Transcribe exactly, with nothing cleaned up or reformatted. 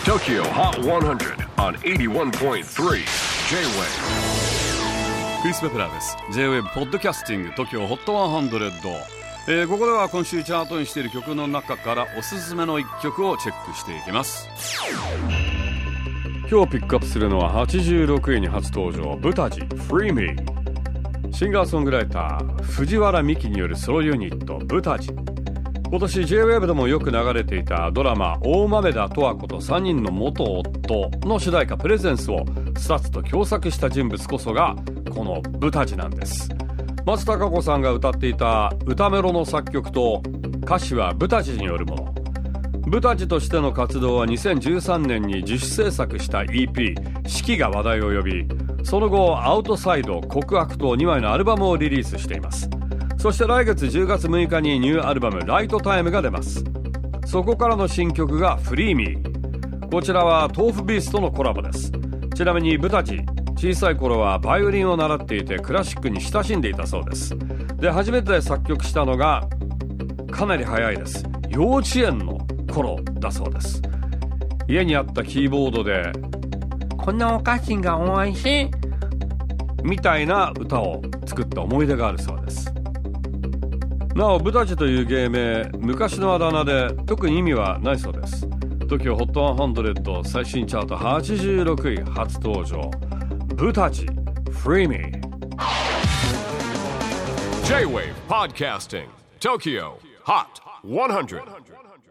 Tokyo Hot one hundred on エイティワンポイントスリー J-Wave。 クリス・ベプラーです。 J-Wave ポッドキャスティング Tokyo Hot ワンハンドレッド、えー、ここでは今週チャートにしている曲の中からおすすめのいっきょくをチェックしていきます。今日ピックアップするのははちじゅうろくいに初登場、ブタジ Free Me。 シンガーソングライター藤原美希によるソロユニットブタジ。今年 J-Wave でもよく流れていたドラマ大豆田十和子とさんにんの元夫の主題歌プレゼンスをスタッツと共作した人物こそがこのブタジなんです。松たか子さんが歌っていた歌メロの作曲と歌詞はブタジによるもの。ブタジとしての活動はにせんじゅうさんねんに自主制作した イーピー 四季が話題を呼び、その後アウトサイド、告白とにまいのアルバムをリリースしています。そして来月じゅうがつむいかにニューアルバムライトタイムが出ます。そこからの新曲がフリーミー。こちらは豆腐ビースとのコラボです。ちなみにブタジ、小さい頃はバイオリンを習っていてクラシックに親しんでいたそうです。で、初めて作曲したのがかなり早いです。幼稚園の頃だそうです。家にあったキーボードでこんなお菓子がおいしいみたいな歌を作った思い出があるそうです。なおブタジという芸名、昔のあだ名で特に意味はないそうです。 Tokyo ホットハンドレッド最新チャートはちじゅうろくい初登場、ブタジ Free Me。 J-Wave Podcasting Tokyo Hot ワンハンドレッド